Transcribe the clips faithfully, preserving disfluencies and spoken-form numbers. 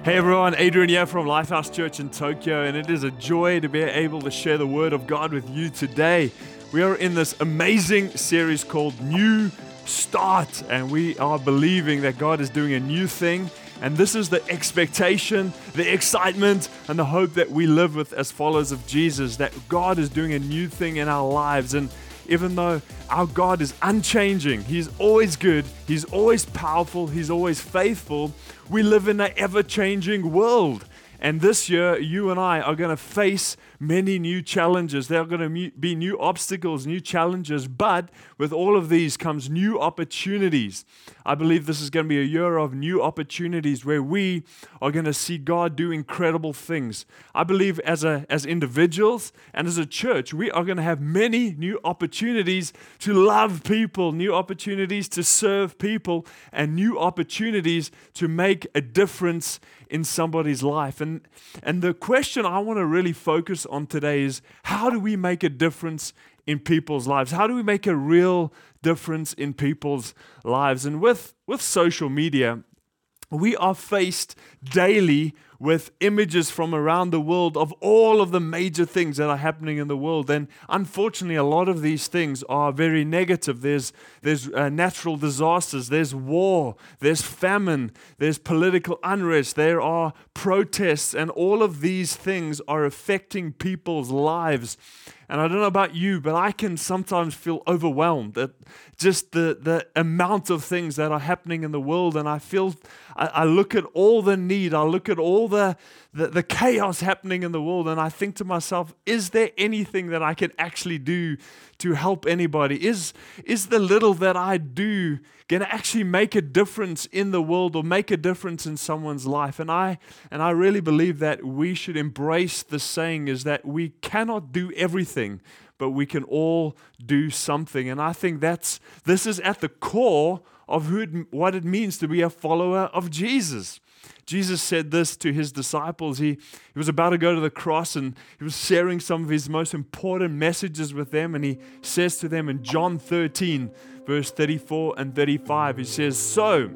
Hey everyone, Adrian here from Lifehouse Church in Tokyo, and it is a joy to be able to share the Word of God with you today. We are in this amazing series called New Start, and we are believing that God is doing a new thing, and this is the expectation, the excitement, and the hope that we live with as followers of Jesus, that God is doing a new thing in our lives. And even though our God is unchanging, He's always good, He's always powerful, He's always faithful, we live in an ever-changing world. And this year, you and I are going to face many new challenges. There are going to be new obstacles, new challenges, but with all of these comes new opportunities. I believe this is going to be a year of new opportunities where we are going to see God do incredible things. I believe as a as individuals and as a church, we are going to have many new opportunities to love people, new opportunities to serve people, and new opportunities to make a difference in somebody's life. And, and the question I want to really focus on today is, how do we make a difference in people's lives? How do we make a real difference in people's lives? And with, with social media, we are faced daily with images from around the world of all of the major things that are happening in the world. And unfortunately, a lot of these things are very negative. There's, there's uh, natural disasters, there's war, there's famine, there's political unrest, there are protests, and all of these things are affecting people's lives. And I don't know about you, but I can sometimes feel overwhelmed at just the, the amount of things that are happening in the world. And I feel, I, I look at all the need, I look at all the, the, the chaos happening in the world, and I think to myself, is there anything that I can actually do to help anybody? Is, is the little that I do going to actually make a difference in the world or make a difference in someone's life? And I and I really believe that we should embrace the saying is that we cannot do everything, but we can all do something. And I think that's this is at the core of who it, what it means to be a follower of Jesus. Jesus said this to his disciples. He, he was about to go to the cross, and he was sharing some of his most important messages with them. And he says to them in John thirteen, verse thirty-four and thirty-five, he says, "So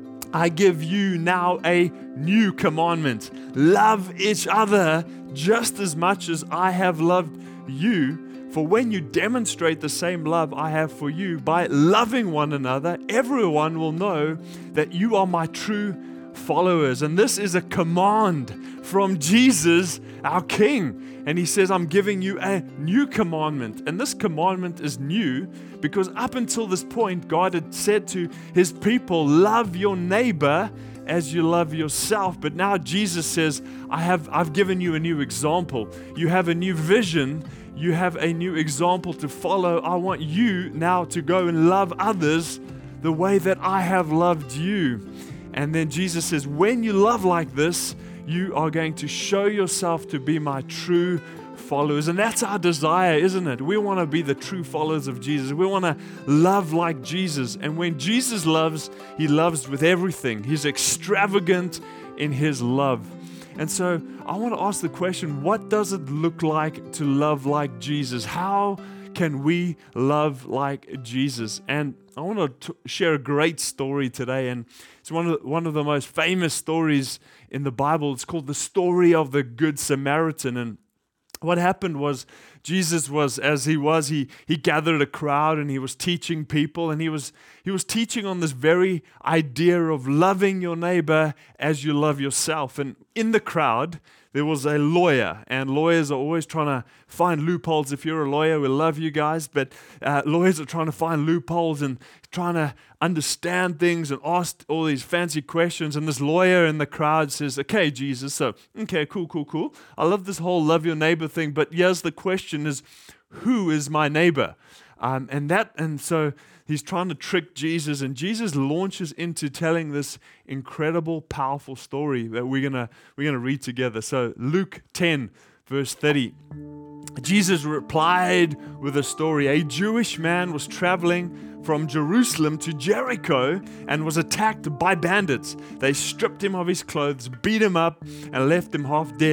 I give you now a new commandment. Love each other just as much as I have loved you. For when you demonstrate the same love I have for you by loving one another, everyone will know that you are my true followers." And this is a command from Jesus, our King. And he says, "I'm giving you a new commandment." And this commandment is new because up until this point, God had said to his people, love your neighbor as you love yourself. But now Jesus says, I have, I've given you a new example. You have a new vision. You have a new example to follow. I want you now to go and love others the way that I have loved you. And then Jesus says, when you love like this, you are going to show yourself to be my true followers. And that's our desire, isn't it? We want to be the true followers of Jesus. We want to love like Jesus. And when Jesus loves, he loves with everything. He's extravagant in his love. And so I want to ask the question, what does it look like to love like Jesus? How can we love like Jesus? And I want to t- share a great story today, and it's one of the, one of the most famous stories in the Bible. It's called the story of the Good Samaritan. And what happened was Jesus was, as he was, he he gathered a crowd and he was teaching people, and he was he was teaching on this very idea of loving your neighbor as you love yourself. And in the crowd, there was a lawyer, and lawyers are always trying to find loopholes. If you're a lawyer, we love you guys, but uh, lawyers are trying to find loopholes and trying to understand things and ask all these fancy questions. And this lawyer in the crowd says, okay, Jesus, so, okay, cool, cool, cool. I love this whole love your neighbor thing, but here's the question is, who is my neighbor? Um, and that, and so he's trying to trick Jesus, and Jesus launches into telling this incredible, powerful story that we're gonna we're gonna read together. So Luke ten, verse thirty. Jesus replied with a story. A Jewish man was traveling from Jerusalem to Jericho and was attacked by bandits. They stripped him of his clothes, beat him up, and left him half dead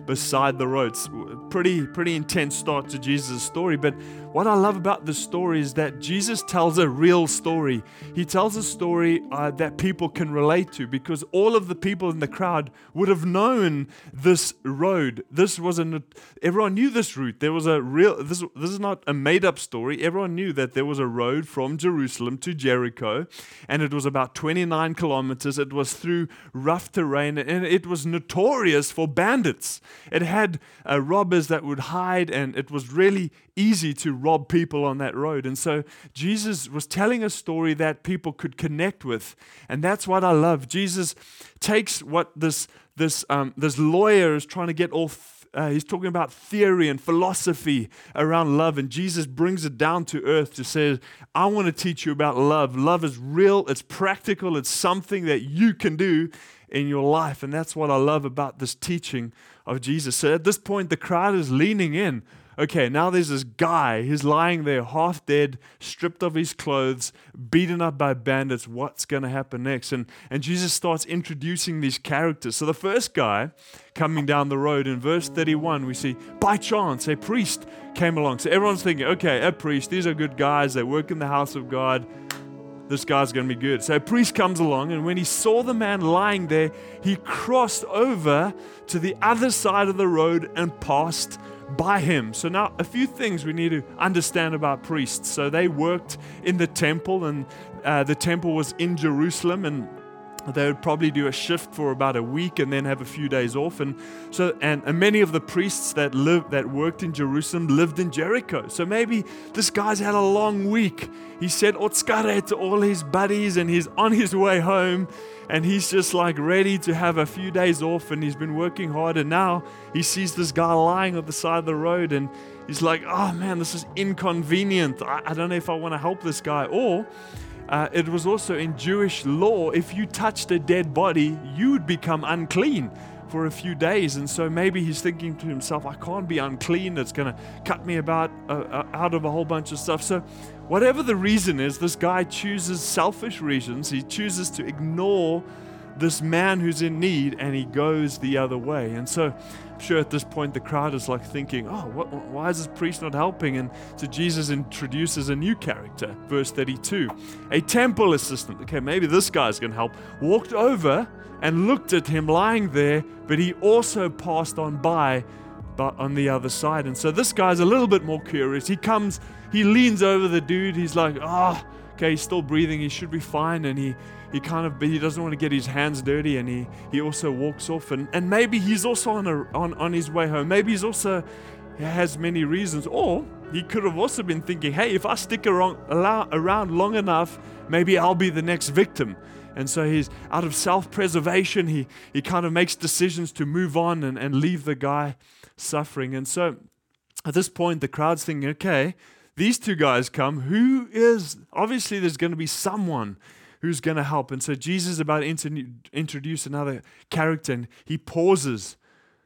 beside the road. It's pretty, pretty intense start to Jesus' story. But what I love about this story is that Jesus tells a real story. He tells a story uh, that people can relate to, because all of the people in the crowd would have known this road. This was a, everyone knew this route. There was a real, this, this is not a made-up story. Everyone knew that there was a road from Jerusalem to Jericho, and it was about twenty-nine kilometers. It was through rough terrain, and it was notorious for bandits. It had uh, robbers that would hide, and it was really easy to rob people on that road. And so Jesus was telling a story that people could connect with, and that's what I love. Jesus takes what this this um, this lawyer is trying to get all. Uh, he's talking about theory and philosophy around love, and Jesus brings it down to earth to say, I want to teach you about love. Love is real, it's practical, it's something that you can do in your life, and that's what I love about this teaching of Jesus. So at this point, the crowd is leaning in. Okay, now there's this guy, he's lying there half dead, stripped of his clothes, beaten up by bandits. What's going to happen next? And, and Jesus starts introducing these characters. So the first guy coming down the road, in verse thirty-one, we see, by chance, a priest came along. So everyone's thinking, okay, a priest, these are good guys, they work in the house of God. This guy's going to be good. So a priest comes along, and when he saw the man lying there, he crossed over to the other side of the road and passed by him. So now a few things we need to understand about priests. So they worked in the temple, and uh, the temple was in Jerusalem, and they would probably do a shift for about a week and then have a few days off. And so, and, and many of the priests that lived, that worked in Jerusalem lived in Jericho. So maybe this guy's had a long week. He said Otskare to all his buddies, and he's on his way home, and he's just like ready to have a few days off, and he's been working hard, and now he sees this guy lying on the side of the road, and he's like, oh man, this is inconvenient. I, I don't know if I want to help this guy. Or Uh, it was also in Jewish law, if you touched a dead body, you would become unclean for a few days. And so maybe he's thinking to himself, I can't be unclean. It's going to cut me about uh, uh, out of a whole bunch of stuff. So whatever the reason is, this guy chooses selfish reasons. He chooses to ignore this man who's in need, and he goes the other way. And so I'm sure at this point the crowd is like thinking, oh, what, why is this priest not helping? And so Jesus introduces a new character. Verse thirty-two, a temple assistant. Okay, maybe this guy's going to help. Walked over and looked at him lying there, but he also passed on by, but on the other side. And so this guy's a little bit more curious. He comes, he leans over the dude. He's like, oh, okay, he's still breathing. He should be fine. And he He kind of, he doesn't want to get his hands dirty, and he, he also walks off. And, and maybe he's also on, a, on on his way home. Maybe he's also, he has many reasons. Or he could have also been thinking, hey, if I stick around, around long enough, maybe I'll be the next victim. And so he's out of self-preservation. He, he kind of makes decisions to move on and, and leave the guy suffering. And so at this point, the crowd's thinking, okay, these two guys come. Who is, obviously there's going to be someone who's going to help. And so Jesus is about to inter- introduce another character, and he pauses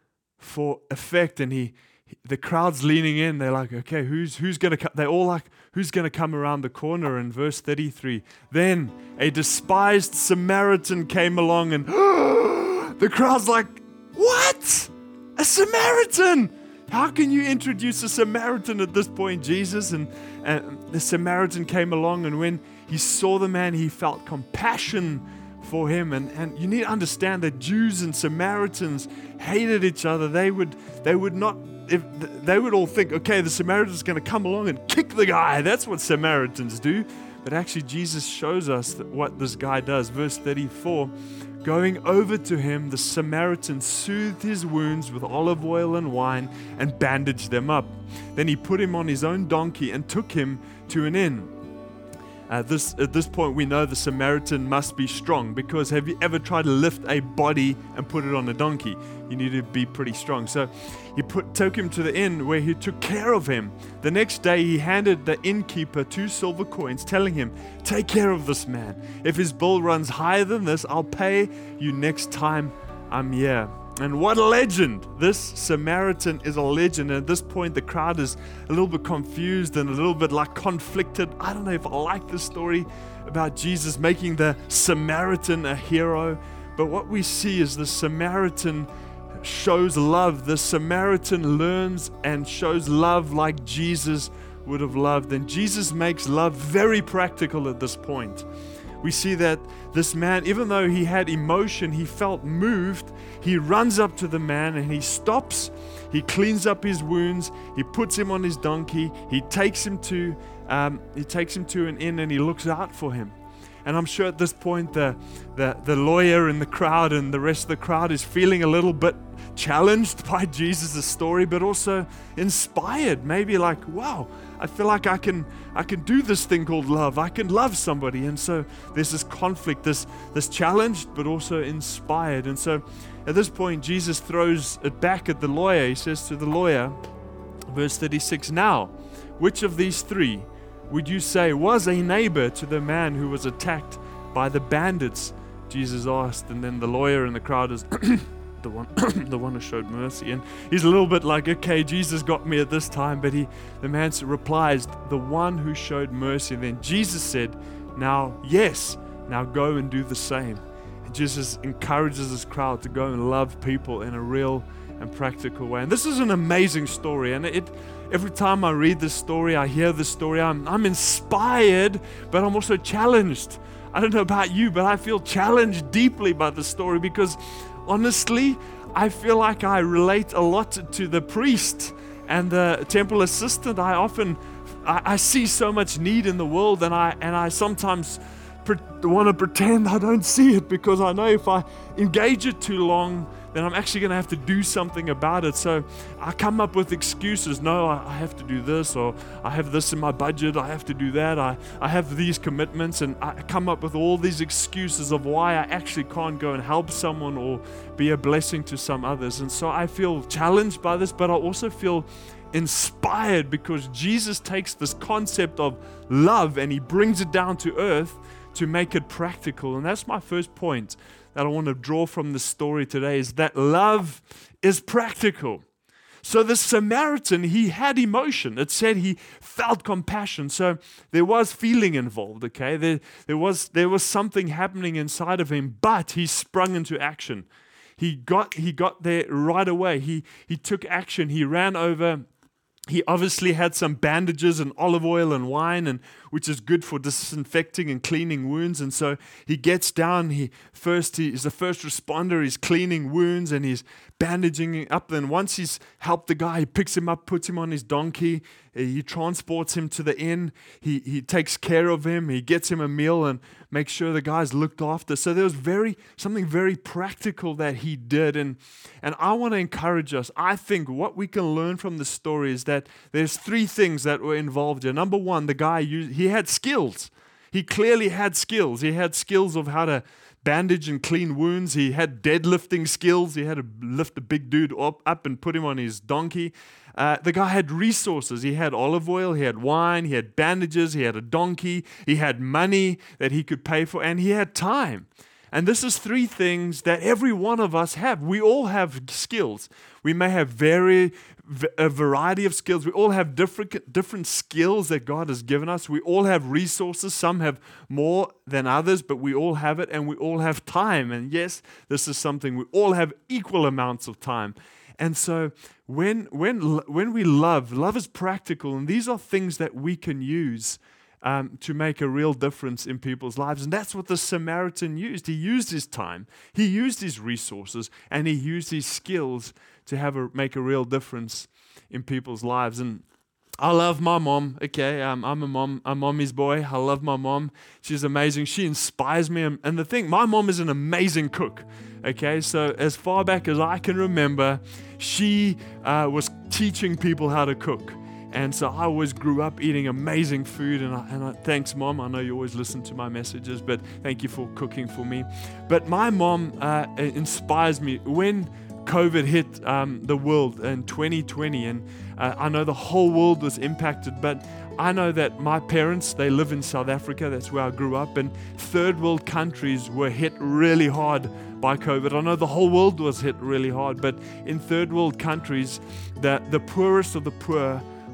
for effect, and he, he the crowd's leaning in. They're like, okay, who's who's going to come? They're all like, who's going to come around the corner? In verse thirty-three, then a despised Samaritan came along, and the crowd's like, what? A Samaritan? How can you introduce a Samaritan at this point, Jesus? And, and the Samaritan came along, and when he saw the man, he felt compassion for him. And, and you need to understand that Jews and Samaritans hated each other. They would they would not, if they would all think, okay, the Samaritan's going to come along and kick the guy. That's what Samaritans do. But actually, Jesus shows us that what this guy does. Verse thirty-four, going over to him, the Samaritan soothed his wounds with olive oil and wine and bandaged them up. Then he put him on his own donkey and took him to an inn. Uh, this, at this point, we know the Samaritan must be strong, because have you ever tried to lift a body and put it on a donkey? You need to be pretty strong. So he put, took him to the inn where he took care of him. The next day, he handed the innkeeper two silver coins, telling him, take care of this man. If his bill runs higher than this, I'll pay you next time I'm here. And what a legend. This Samaritan is a legend. And at this point, the crowd is a little bit confused and a little bit like conflicted. I don't know if I like this story about Jesus making the Samaritan a hero. But what we see is the Samaritan shows love. The Samaritan learns and shows love like Jesus would have loved. And Jesus makes love very practical at this point. We see that this man, even though he had emotion, he felt moved, he runs up to the man and he stops, he cleans up his wounds, he puts him on his donkey, he takes him to um, he takes him to an inn and he looks out for him. And I'm sure at this point the, the, the lawyer in the crowd and the rest of the crowd is feeling a little bit challenged by Jesus' story, but also inspired. Maybe like, wow, I feel like I can I can do this thing called love. I can love somebody. And so there's this conflict, this this challenged, but also inspired. And so at this point, Jesus throws it back at the lawyer. He says to the lawyer, verse thirty-six, now, which of these three would you say was a neighbor to the man who was attacked by the bandits? Jesus asked. And then the lawyer in the crowd is the one the one who showed mercy. And he's a little bit like, okay, Jesus got me at this time. But he the man replies, the one who showed mercy. And then Jesus said, now, yes, now go and do the same. And Jesus encourages this crowd to go and love people in a real and practical way. And this is an amazing story. And it every time I read this story, I hear this story, I'm, I'm inspired, but I'm also challenged. I don't know about you, but I feel challenged deeply by the story because honestly, I feel like I relate a lot to the priest and the temple assistant. I often, I, I see so much need in the world, and I and I sometimes pre- want to pretend I don't see it because I know if I engage it too long, then I'm actually going to have to do something about it. So I come up with excuses. No, I, I have to do this, or I have this in my budget. I have to do that. I, I have these commitments, and I come up with all these excuses of why I actually can't go and help someone or be a blessing to some others. And so I feel challenged by this, but I also feel inspired because Jesus takes this concept of love and he brings it down to earth to make it practical. And that's my first point that I want to draw from the story today, is that love is practical. So the Samaritan, he had emotion. It said he felt compassion. So there was feeling involved, okay? There, there was there was something happening inside of him, but he sprung into action. He got he got there right away. He he took action. He ran over. He obviously had some bandages and olive oil and wine, and which is good for disinfecting and cleaning wounds. And so he gets down. He first he is the first responder. He's cleaning wounds and he's bandaging up. Then once he's helped the guy, he picks him up, puts him on his donkey. He transports him to the inn. He he takes care of him. He gets him a meal and makes sure the guy's looked after. So there was very something very practical that he did. And and I want to encourage us. I think what we can learn from the story is that there's three things that were involved here. Number one, the guy used, he had skills. He clearly had skills. He had skills of how to bandage and clean wounds. He had deadlifting skills. He had to lift a big dude up, up and put him on his donkey. Uh, the guy had resources. He had olive oil, he had wine, he had bandages, he had a donkey, he had money that he could pay for, and he had time. And this is three things that every one of us have. We all have skills. We may have very a variety of skills. We all have different different skills that God has given us. We all have resources. Some have more than others, but we all have it, and we all have time. And yes, this is something we all have equal amounts of time. And so when when when we love, love is practical, and these are things that we can use um, to make a real difference in people's lives. And that's what the Samaritan used. He used his time, he used his resources, and he used his skills to have a, make a real difference in people's lives. And I love my mom. Okay, um, I'm a mom, a mommy's boy. I love my mom. She's amazing. She inspires me. And, and the thing, my mom is an amazing cook. Okay, so as far back as I can remember, she uh, was teaching people how to cook. And so I always grew up eating amazing food. And, I, and I, thanks, Mom. I know you always listen to my messages, but thank you for cooking for me. But my mom uh, inspires me. When COVID hit um, the world in twenty twenty, and uh, I know the whole world was impacted, but I know that my parents, they live in South Africa. That's where I grew up, and third world countries were hit really hard by COVID. I know the whole world was hit really hard, but in third world countries, the, the poorest of the poor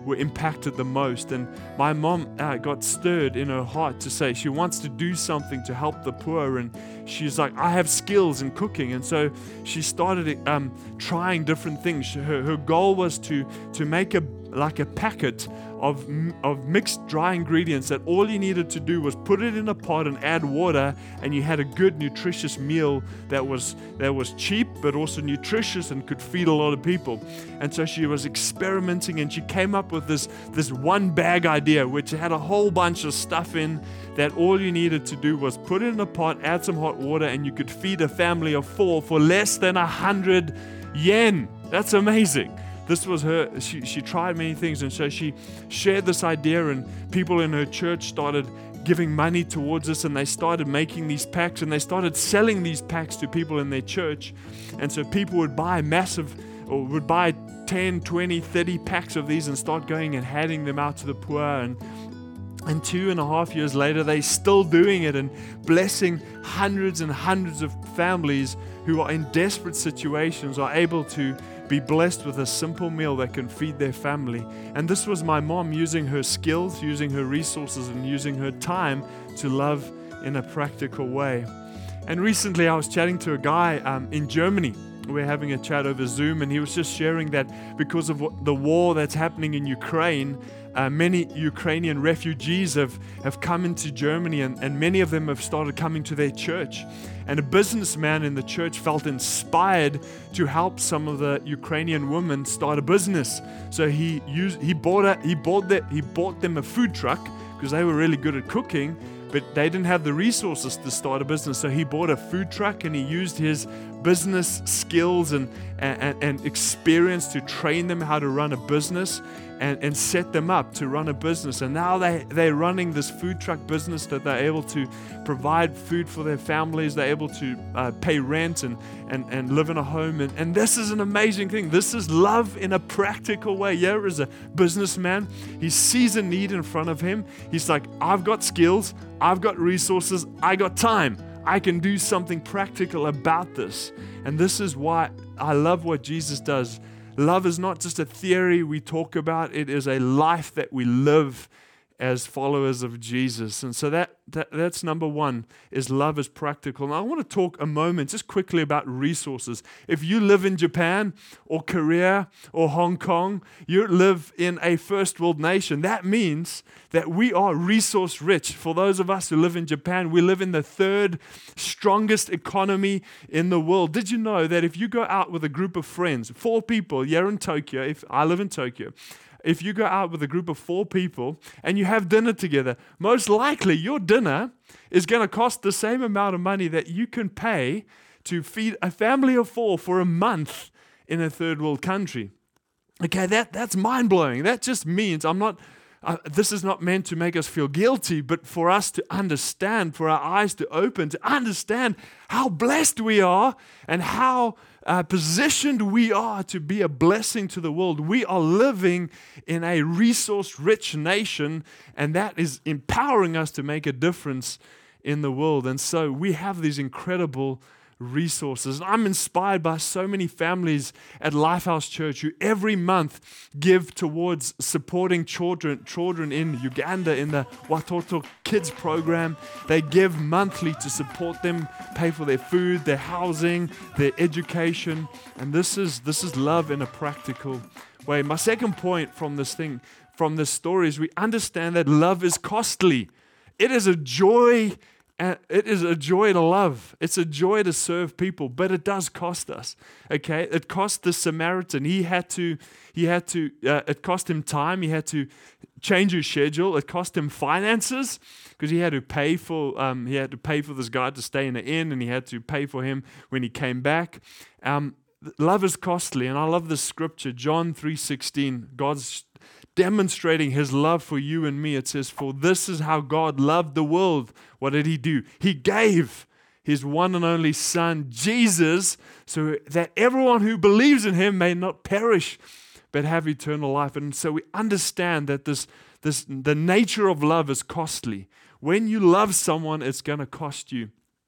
were impacted the most. And my mom uh, got stirred in her heart to say she wants to do something to help the poor. And she's like, I have skills in cooking. And so she started um, trying different things. Her, her goal was to, to make a like a packet of, of mixed dry ingredients that all you needed to do was put it in a pot and add water, and you had a good nutritious meal that was that was cheap but also nutritious and could feed a lot of people. And so she was experimenting, and she came up with this this one bag idea, which had a whole bunch of stuff in that all you needed to do was put it in a pot, add some hot water, and you could feed a family of four for less than a hundred yen. That's amazing. This was her, she, she tried many things, and so she shared this idea, and people in her church started giving money towards this, and they started making these packs, and they started selling these packs to people in their church. And so people would buy massive, or would buy ten, twenty, thirty packs of these and start going and handing them out to the poor. And And two and a half years later, they're still doing it and blessing hundreds and hundreds of families who are in desperate situations, are able to be blessed with a simple meal that can feed their family. And this was my mom using her skills, using her resources, and using her time to love in a practical way. And recently I was chatting to a guy um, in Germany. We're having a chat over Zoom, and he was just sharing that because of what, the war that's happening in Ukraine, uh, many Ukrainian refugees have, have come into Germany, and, and many of them have started coming to their church. And a businessman in the church felt inspired to help some of the Ukrainian women start a business. So he used he bought a he bought that he bought them a food truck because they were really good at cooking, but they didn't have the resources to start a business. So he bought a food truck, and he used his business skills and, and, and experience to train them how to run a business and, and set them up to run a business. And now they, they're running this food truck business that they're able to provide food for their families. They're able to uh, pay rent and, and, and live in a home. And, and this is an amazing thing. This is love in a practical way. Here is a businessman. He sees a need in front of him. He's like, I've got skills. I've got resources. I got time. I can do something practical about this. And this is why I love what Jesus does. Love is not just a theory we talk about. It is a life that we live as followers of Jesus. And so that, that that's number one, is love is practical. Now I want to talk a moment just quickly about resources. If you live in Japan or Korea or Hong Kong, you live in a first world nation. That means that we are resource rich. For those of us who live in Japan, we live in the third strongest economy in the world. Did you know that if you go out with a group of friends, four people, here in Tokyo, if I live in Tokyo, if you go out with a group of four people and you have dinner together, most likely your dinner is going to cost the same amount of money that you can pay to feed a family of four for a month in a third world country. Okay, that, that's mind-blowing. That just means I'm not, uh, this is not meant to make us feel guilty, but for us to understand, for our eyes to open, to understand how blessed we are and how Uh, positioned we are to be a blessing to the world. We are living in a resource-rich nation, and that is empowering us to make a difference in the world. And so we have these incredible resources. I'm inspired by so many families at Lifehouse Church who every month give towards supporting children children in Uganda in the Watoto Kids program. They give monthly to support them, pay for their food, their housing, their education. And this is this is love in a practical way. My second point from this thing, from this story, is we understand that love is costly. It is a joy And it is a joy to love. It's a joy to serve people, but it does cost us. Okay, it cost the Samaritan. He had to. He had to. Uh, it cost him time. He had to change his schedule. It cost him finances because he had to pay for. Um, he had to pay for this guy to stay in the inn, and he had to pay for him when he came back. Um, love is costly, and I love this scripture, John three sixteen. God's demonstrating his love for you and me. It says, for this is how God loved the world. What did he do? He gave his one and only son, Jesus, so that everyone who believes in him may not perish, but have eternal life. And so we understand that this, this the nature of love is costly. When you love someone, it's going to cost you.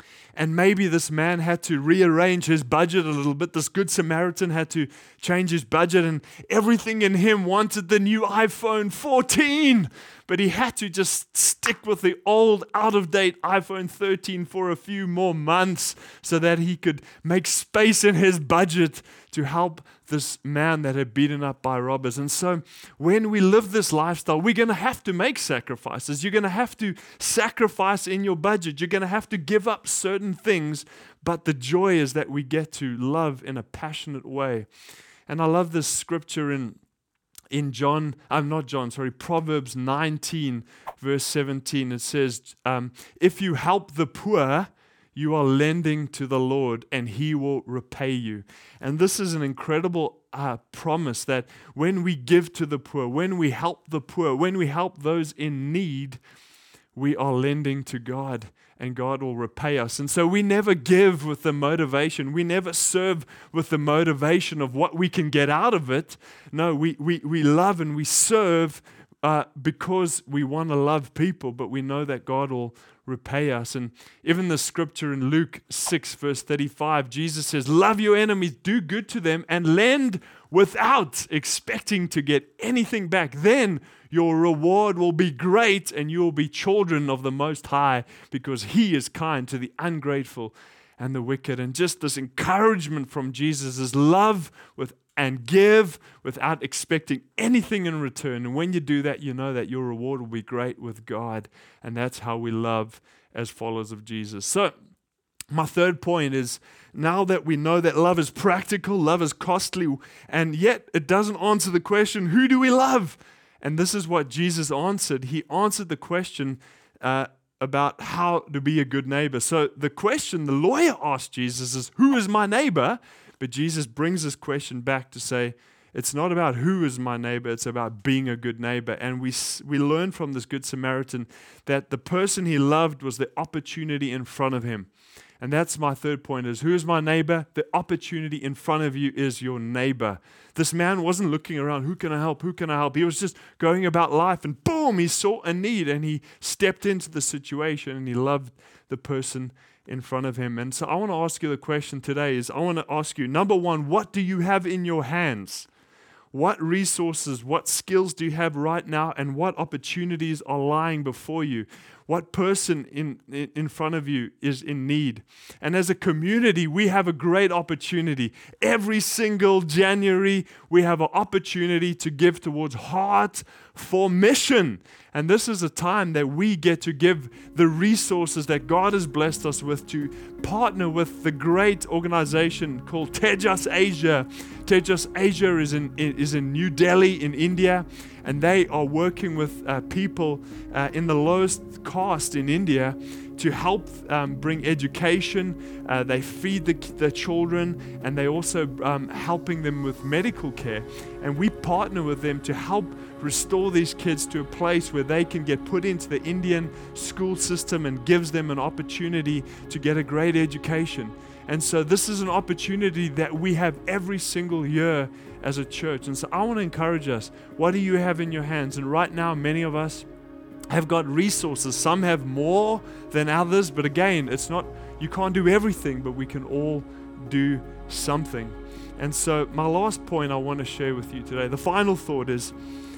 And maybe this man had to rearrange his budget a little bit. This Good Samaritan had to change his budget, and everything in him wanted the new iPhone fourteen. But he had to just stick with the old, out-of-date iPhone thirteen for a few more months so that he could make space in his budget to help this man that had beaten up by robbers. And so when we live this lifestyle, we're going to have to make sacrifices. You're going to have to sacrifice in your budget. You're going to have to give up certain things, but the joy is that we get to love in a passionate way. And I love this scripture in In John, I'm not John, sorry, Proverbs nineteen, verse seventeen. It says, um, if you help the poor, you are lending to the Lord, and He will repay you. And this is an incredible uh, promise that when we give to the poor, when we help the poor, when we help those in need, we are lending to God, and God will repay us. And so we never give with the motivation. We never serve with the motivation of what we can get out of it. No, we we, we love and we serve uh, because we want to love people, but we know that God will repay us. And even the scripture in Luke six, verse thirty-five, Jesus says, love your enemies, do good to them, and lend without expecting to get anything back. Then your reward will be great, and you will be children of the Most High, because He is kind to the ungrateful and the wicked. And just this encouragement from Jesus is love with and give without expecting anything in return. And when you do that, you know that your reward will be great with God. And that's how we love as followers of Jesus. So my third point is, now that we know that love is practical, love is costly, and yet it doesn't answer the question, who do we love? And this is what Jesus answered. He answered the question uh, about how to be a good neighbor. So the question the lawyer asked Jesus is, who is my neighbor? But Jesus brings this question back to say, it's not about who is my neighbor, it's about being a good neighbor. And we we learn from this Good Samaritan that the person he loved was the opportunity in front of him. And that's my third point is, who is my neighbor? The opportunity in front of you is your neighbor. This man wasn't looking around, who can I help, who can I help? He was just going about life, and boom, he saw a need, and he stepped into the situation, and he loved the person in front of him. And so I want to ask you the question today is, I want to ask you, number one, what do you have in your hands? What resources, what skills do you have right now, and what opportunities are lying before you? What person in, in, in front of you is in need? And as a community, we have a great opportunity. Every single January, we have an opportunity to give towards Heart for Mission. And this is a time that we get to give the resources that God has blessed us with to partner with the great organization called Tejas Asia. Tejas Asia is in, is in New Delhi in India, and they are working with uh, people uh, in the lowest caste in India to help um, bring education. Uh, they feed the, the children, and they also um, helping them with medical care. And we partner with them to help restore these kids to a place where they can get put into the Indian school system, and gives them an opportunity to get a great education. And so this is an opportunity that we have every single year as a church. And so I want to encourage us, what do you have in your hands? And right now, many of us have got resources. Some have more than others, but again, it's not, you can't do everything, but we can all do something. And so my last point I want to share with you today, the final thought is,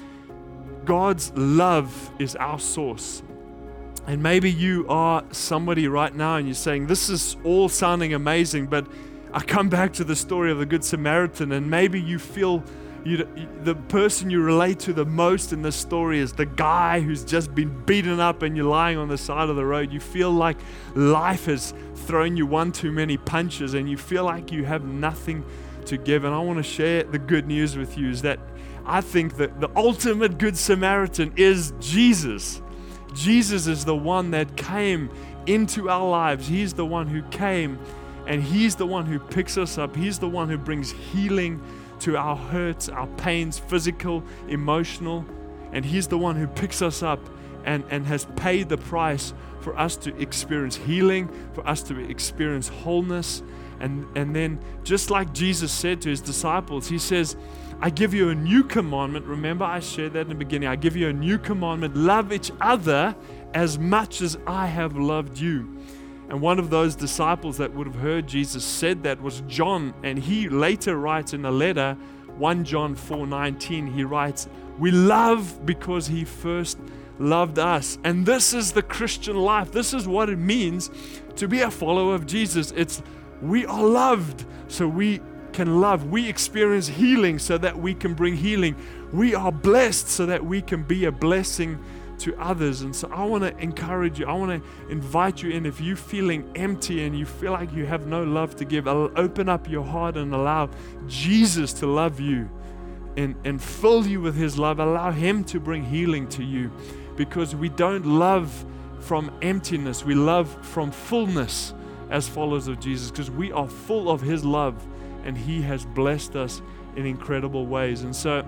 God's love is our source. And maybe you are somebody right now and you're saying, this is all sounding amazing, but I come back to the story of the Good Samaritan, and maybe you feel you, the person you relate to the most in this story is the guy who's just been beaten up, and you're lying on the side of the road. You feel like life has thrown you one too many punches, and you feel like you have nothing to give. And I want to share the good news with you is that I think that the ultimate Good Samaritan is Jesus. Jesus is the one that came into our lives. He's the one who came, and He's the one who picks us up. He's the one who brings healing to our hurts, our pains, physical, emotional. And He's the one who picks us up and, and has paid the price for us to experience healing, for us to experience wholeness. And, and then just like Jesus said to His disciples, He says, I give you a new commandment. Remember, I shared that in the beginning. I give you a new commandment. Love each other as much as I have loved you. And one of those disciples that would have heard Jesus said that was John. And he later writes in a letter, First John four nineteen, he writes, "We love because he first loved us." And this is the Christian life. This is what it means to be a follower of Jesus. It's we are loved so we can love. We experience healing so that we can bring healing. We are blessed so that we can be a blessing to others. And so I want to encourage you. I want to invite you in. If you're feeling empty and you feel like you have no love to give, I'll open up your heart and allow Jesus to love you and, and fill you with his love. Allow him to bring healing to you, because we don't love from emptiness. We love from fullness as followers of Jesus, because we are full of his love and he has blessed us in incredible ways. And so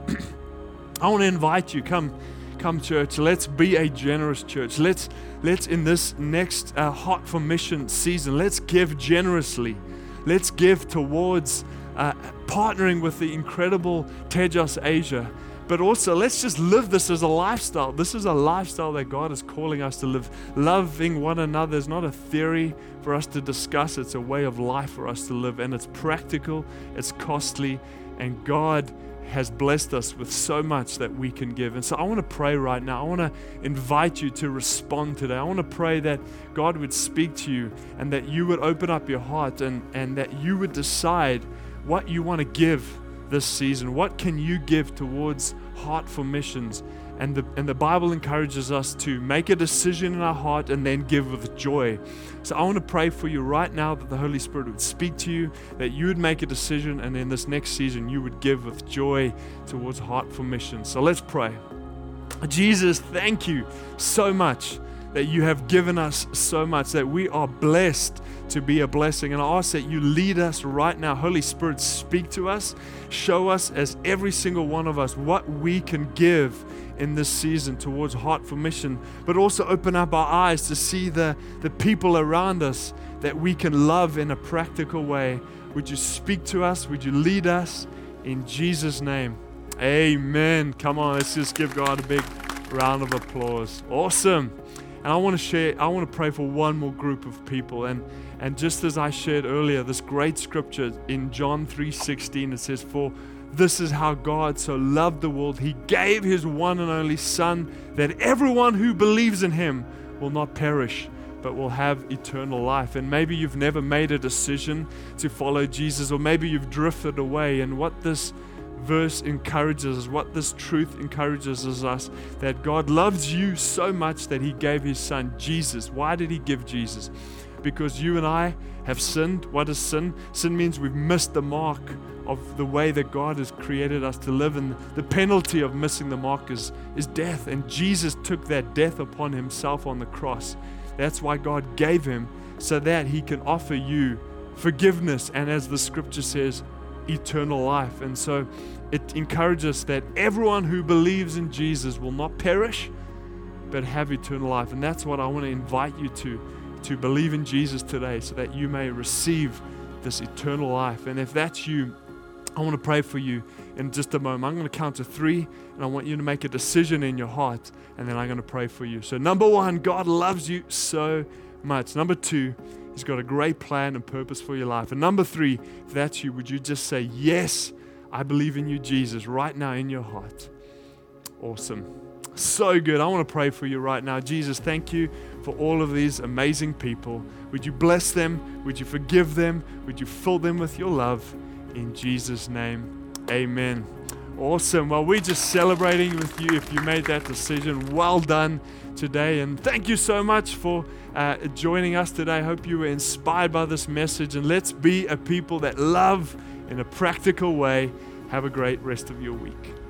I want to invite you, come Come church, let's be a generous church. Let's, let's in this next uh, Heart for Mission season, let's give generously. Let's give towards uh, partnering with the incredible Tejas Asia. But also, let's just live this as a lifestyle. This is a lifestyle that God is calling us to live. Loving one another is not a theory for us to discuss. It's a way of life for us to live. And it's practical, it's costly, and God has blessed us with so much that we can give. And so I want to pray right now. I want to invite you to respond today. I want to pray that God would speak to you and that you would open up your heart and, and that you would decide what you want to give this season. What can you give towards Heart for Missions? And the, and the Bible encourages us to make a decision in our heart and then give with joy. So I want to pray for you right now that the Holy Spirit would speak to you, that you would make a decision, and in this next season you would give with joy towards Heart for Missions. So let's pray. Jesus, thank you so much that you have given us so much, that we are blessed to be a blessing. And I ask that you lead us right now. Holy Spirit, speak to us. Show us, as every single one of us, what we can give in this season towards Heart for Mission, but also open up our eyes to see the, the people around us that we can love in a practical way. Would you speak to us? Would you lead us? In Jesus' name, amen. Come on, let's just give God a big round of applause. Awesome. And I want to share, I want to pray for one more group of people. And, and just as I shared earlier, this great scripture in John three sixteen, it says, "For this is how God so loved the world. He gave his one and only Son, that everyone who believes in him will not perish, but will have eternal life." And maybe you've never made a decision to follow Jesus, or maybe you've drifted away. And what this verse encourages us, what this truth encourages is us, that God loves you so much that he gave his Son, Jesus. Why did he give Jesus? Because you and I have sinned. What is sin? Sin means we've missed the mark of the way that God has created us to live, and the penalty of missing the mark is, is death. And Jesus took that death upon himself on the cross. That's why God gave him, so that he can offer you forgiveness, and as the scripture says, eternal life. And so it encourages that everyone who believes in Jesus will not perish, but have eternal life. And that's what I want to invite you to, to believe in Jesus today, so that you may receive this eternal life. And if that's you, I want to pray for you in just a moment. I'm going to count to three, and I want you to make a decision in your heart, and then I'm going to pray for you. So number one, God loves you so much. Number two, he's got a great plan and purpose for your life. And number three, if that's you, would you just say, yes, I believe in you, Jesus, right now in your heart. Awesome. So good. I want to pray for you right now. Jesus, thank you for all of these amazing people. Would you bless them? Would you forgive them? Would you fill them with your love? In Jesus' name, amen. Awesome. Well, we're just celebrating with you if you made that decision. Well done today. And thank you so much for uh, joining us today. I hope you were inspired by this message. And let's be a people that love in a practical way. Have a great rest of your week.